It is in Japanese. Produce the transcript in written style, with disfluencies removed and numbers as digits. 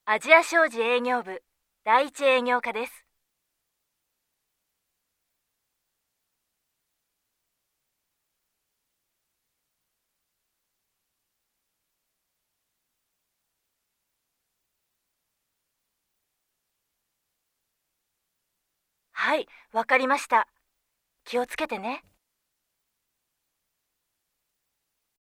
アジア商事営業部第一営業課です。はい、わかりました。気をつけてね。